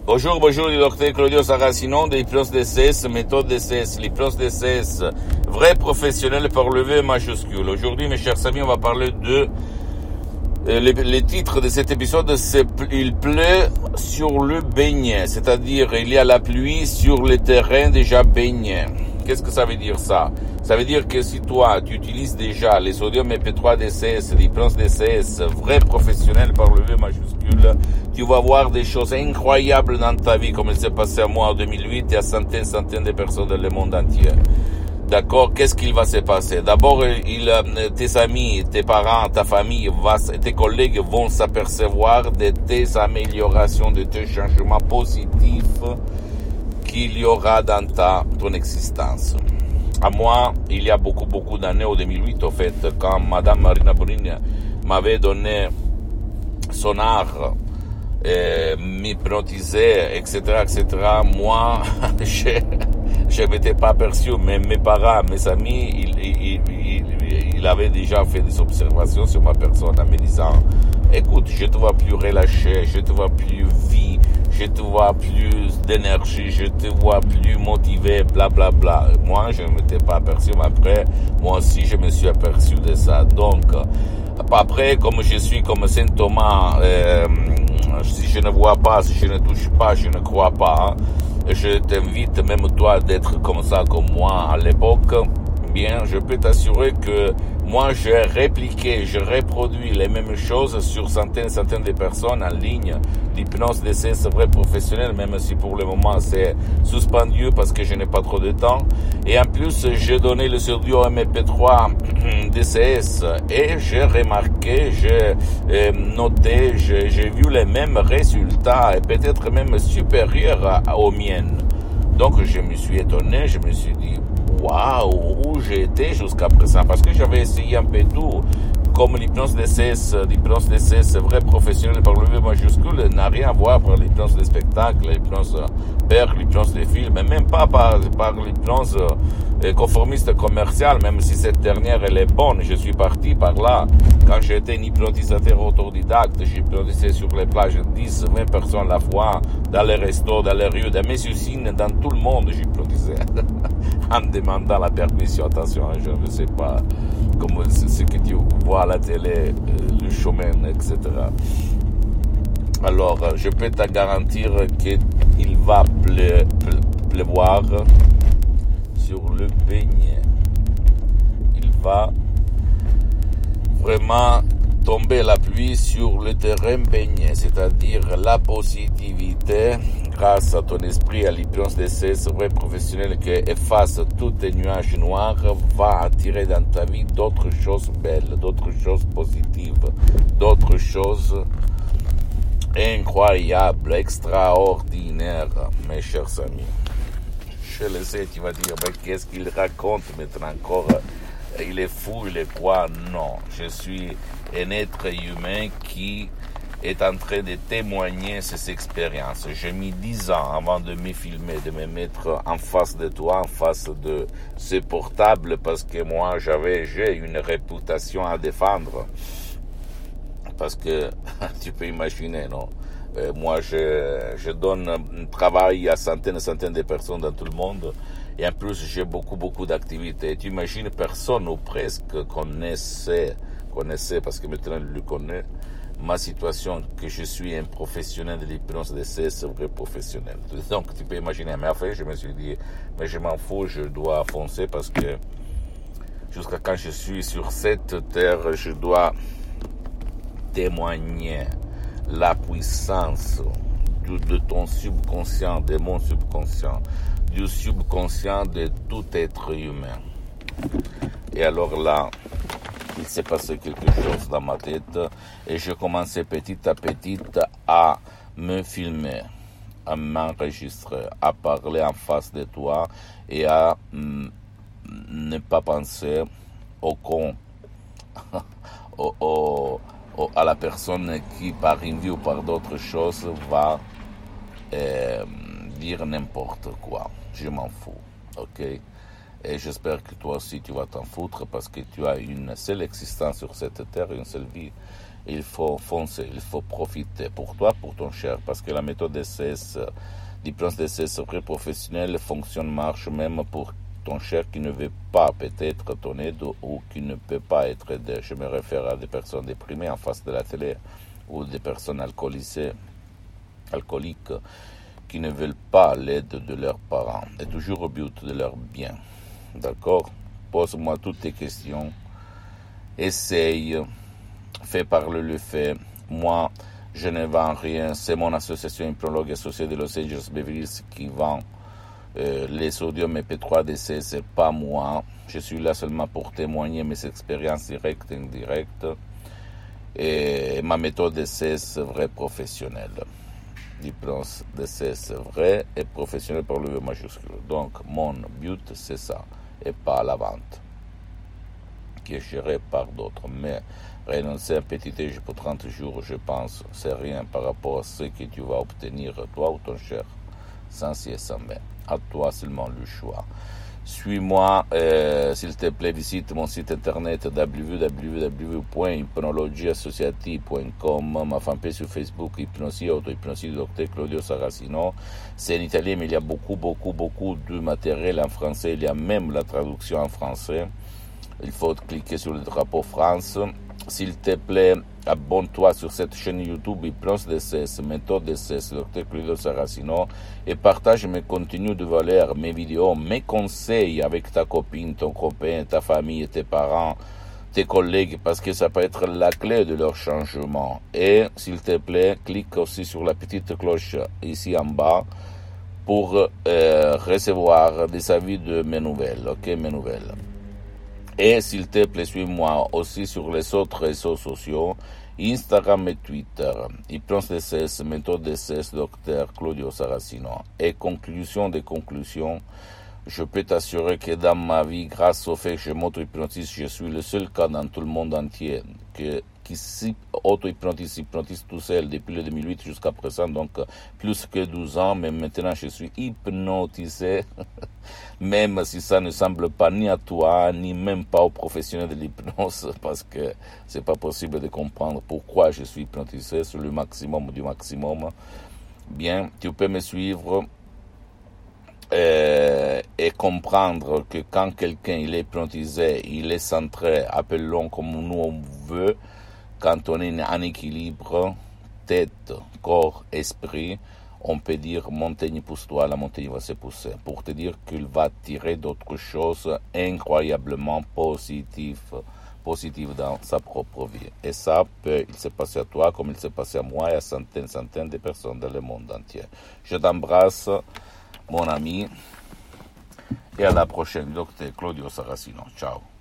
Bonjour, le docteur Claudio Saracino de l'hypnose DCS, méthode DCS, l'hypnose DCS, vrai professionnel par le V majuscule. Aujourd'hui, mes chers amis, on va parler de... le titre de cet épisode, c'est « Il pleut sur le beignet », c'est-à-dire il y a la pluie sur le terrain déjà baigné. Qu'est-ce que ça veut dire ça? Ça veut dire que si toi, tu utilises déjà les sodium MP3 DCS, l'hypnose DCS, vrai professionnel par le V majuscule, tu vas voir des choses incroyables dans ta vie, comme il s'est passé à moi en 2008 et à centaines de personnes dans le monde entier. D'accord? Qu'est-ce qu'il va se passer? D'abord, tes amis, tes parents, ta famille, tes collègues vont s'apercevoir de tes améliorations, de tes changements positifs qu'il y aura dans ton existence. À moi, il y a beaucoup d'années, en 2008, au fait, quand Madame Marina Bonini m'avait donné son art, m'hypnotisait, etc., moi, je m'étais pas aperçu, mais mes parents, mes amis, ils avaient déjà fait des observations sur ma personne en me disant, écoute, je te vois plus relâché, je te vois plus vie, je te vois plus d'énergie, je te vois plus motivé, bla bla bla. Moi, je ne m'étais pas aperçu, mais après, moi aussi, je me suis aperçu de ça. Donc, après, comme je suis comme Saint Thomas, si je ne vois pas, si je ne touche pas, je ne crois pas. Je t'invite même toi d'être comme ça, comme moi à l'époque. Bien, je peux t'assurer que moi, j'ai répliqué, je reproduis les mêmes choses sur centaines de personnes en ligne. L'hypnose DCS vrai professionnel, même si pour le moment c'est suspendu parce que je n'ai pas trop de temps. Et en plus, j'ai donné le studio MP3 DCS et j'ai remarqué, j'ai noté, j'ai vu les mêmes résultats et peut-être même supérieurs aux miennes. Donc je me suis étonné, je me suis dit, waouh, où j'ai été jusqu'à présent, parce que j'avais essayé un peu tout, comme l'hypnose DCS vrai professionnel par le V majuscule, n'a rien à voir par l'hypnose des spectacles, l'hypnose père, l'hypnose des films, même pas par l'hypnose conformiste commerciale, même si cette dernière elle est bonne. Je suis parti par là, quand j'étais un hypnotisateur autodidacte, j'hypnotisais sur les plages 10, 20 personnes à la fois, dans les restos, dans les rues, dans mes usines, dans tout le monde j'hypnotisais, en demandant la permission. Attention, je ne sais pas comme ce que tu vois à la télé, le chemin, etc. Alors, je peux te garantir qu'il va pleuvoir sur le beignet. Il va vraiment tomber la pluie sur le terrain baigné, c'est-à-dire la positivité grâce à ton esprit, à l'hypnose DCS vrai professionnel qui efface tous tes nuages noirs, va attirer dans ta vie d'autres choses belles, d'autres choses positives, d'autres choses incroyables, extraordinaires, mes chers amis. Je le sais, tu vas dire, mais qu'est-ce qu'il raconte maintenant encore? Il est fou, il est quoi? Non, je suis un être humain qui est en train de témoigner ces expériences. J'ai mis 10 ans avant de me filmer, de me mettre en face de toi, en face de ce portable, parce que moi, j'ai une réputation à défendre. Parce que, tu peux imaginer, non? Moi, je donne un travail à centaines de personnes dans tout le monde. Et en plus, j'ai beaucoup d'activités. Tu imagines, personne ou presque connaissait, parce que maintenant il le connaît, ma situation, que je suis un professionnel de l'hypnose DCS, vrai professionnel. Donc, tu peux imaginer. Mais après, je me suis dit, mais je m'en fous, je dois foncer parce que jusqu'à quand je suis sur cette terre, je dois témoigner la puissance de ton subconscient, de mon subconscient, du subconscient de tout être humain. Et alors là, il s'est passé quelque chose dans ma tête et je commençais petit à petit à me filmer, à m'enregistrer, à parler en face de toi et à ne pas penser au con, à la personne qui, par une vie ou par d'autres choses, va dire n'importe quoi. Je m'en fous, ok? Et j'espère que toi aussi tu vas t'en foutre parce que tu as une seule existence sur cette terre, une seule vie. il faut foncer, il faut profiter pour toi, pour ton cher, parce que la méthode DCS, l'hypnose DCS vrai professionnel fonctionne, marche même pour ton cher qui ne veut pas peut-être ton aide ou qui ne peut pas être aidé. Je me réfère à des personnes déprimées en face de la télé ou des personnes alcoolisées, alcooliques, qui ne veulent pas l'aide de leurs parents et toujours au but de leur bien. D'accord? Pose-moi toutes tes questions. Essaye. Fais parler le fait. Moi, je ne vends rien. C'est mon association Hypnologue associée de Los Angeles Beverly Hills qui vend les sodium MP3 DC. C'est pas moi. Je suis là seulement pour témoigner mes expériences directes et indirectes. Et ma méthode DCS vraie professionnelle. L'hypnose DCS vrai et professionnel par le V majuscule. Donc, mon but, c'est ça, et pas la vente, qui est gérée par d'autres. Mais renoncer à un petit déj pour 30 jours, je pense, c'est rien par rapport à ce que tu vas obtenir, toi ou ton cher, sans si et sans mais. À toi seulement le choix. Suis-moi, s'il te plaît, visite mon site internet www.hypnologieassociative.com, ma fanpage sur Facebook, Hypnosie, Auto-Hypnosie du Dr Claudio Saracino. C'est en italien, mais il y a beaucoup de matériel en français. Il y a même la traduction en français. Il faut cliquer sur le drapeau France. S'il te plaît, abonne-toi sur cette chaîne YouTube Hypnose DCS, méthode DCS, Dr Claudio Saracino, et partage mes contenus de valeur, mes vidéos, mes conseils avec ta copine, ton copain, ta famille, tes parents, tes collègues, parce que ça peut être la clé de leur changement. Et s'il te plaît, clique aussi sur la petite cloche ici en bas pour recevoir des avis de mes nouvelles, ok, mes nouvelles. Et s'il te plaît, suis-moi aussi sur les autres réseaux sociaux, Instagram et Twitter, Hypnose DCS, méthode DCS, Dr Claudio Saracino. Et conclusion des conclusions, je peux t'assurer que dans ma vie, grâce au fait que je m'auto-hypnotise, je suis le seul cas dans tout le monde entier qui s'auto-hypnotise tout seul depuis le 2008 jusqu'à présent, donc plus que 12 ans, mais maintenant je suis hypnotisé, même si ça ne semble pas ni à toi, ni même pas aux professionnels de l'hypnose, parce que c'est pas possible de comprendre pourquoi je suis hypnotisé, c'est le maximum du maximum. Bien, tu peux me suivre et comprendre que quand quelqu'un il est hypnotisé, il est centré, appelons comme nous on veut, quand on est en équilibre, tête, corps, esprit, on peut dire montagne pousse-toi, la montagne va se pousser, pour te dire qu'il va tirer d'autres choses incroyablement positives dans sa propre vie. Et ça peut il s'est passé à toi comme il s'est passé à moi et à centaines de personnes dans le monde entier. Je t'embrasse, mon ami, et à la prochaine, Dr Claudio Saracino. Ciao.